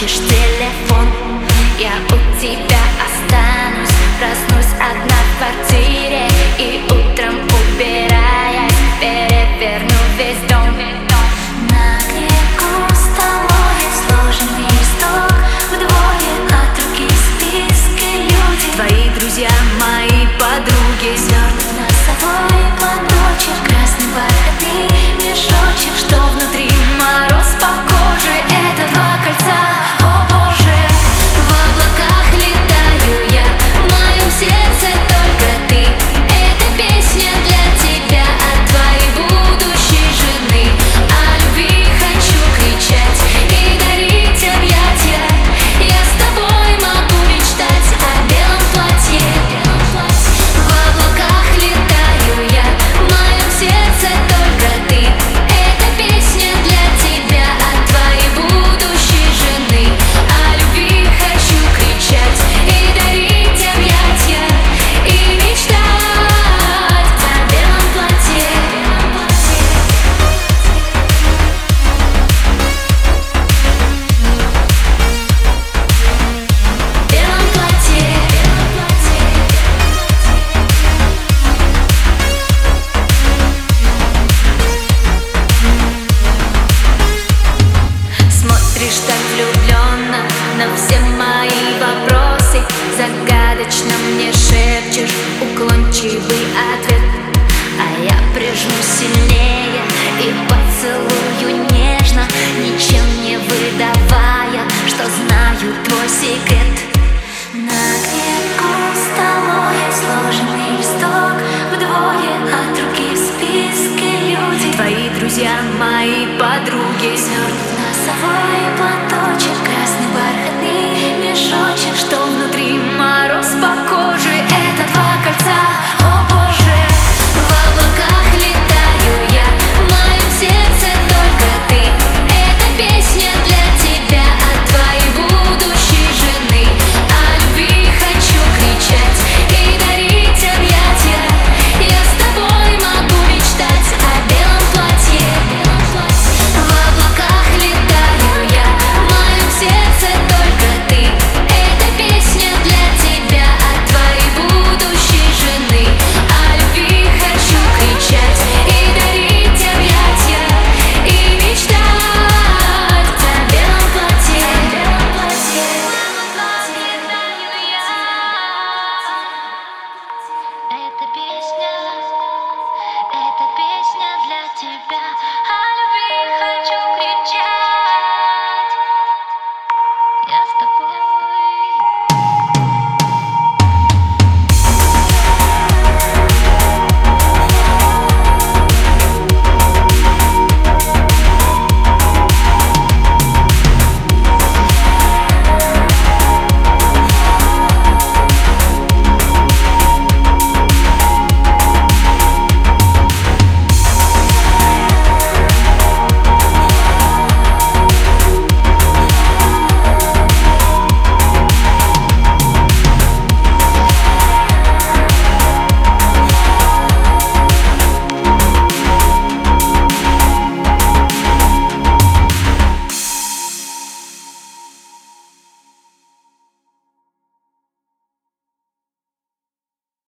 выключишь телефон, я у тебя останусь. Проснусь одна в квартире и утром, убираясь, переверну весь дом. На берегу столовой сложенный листок, вдвое от руки списки люди. Твои друзья, мои подруги, свернут носовой платочек, красный бархатный мешочек, что внутри мороз по коже. Это два кольца, о боже. В облаках летаю я, в моем сердце только ты. Эта песня для тебя от твоей будущей жены. О любви хочу кричать и дарить объятия. Я с тобой могу мечтать о белом платье. В облаках летаю я, в моем сердце только ты. Эта песня для тебя от твоей будущей жены. О любви хочу кричать и дарить объятия, и мечтать о белом платье. Белом платье. Смотришь так влюбленно на все мои вопросы, загадочно мне шепчешь уклончивый ответ. А я прижму сильнее и поцелую нежно, ничем не выдавая, что знаю твой секрет. На берегу столовой сложенный листок, вдвое от руки в списке люди. Твои друзья, мои подруги,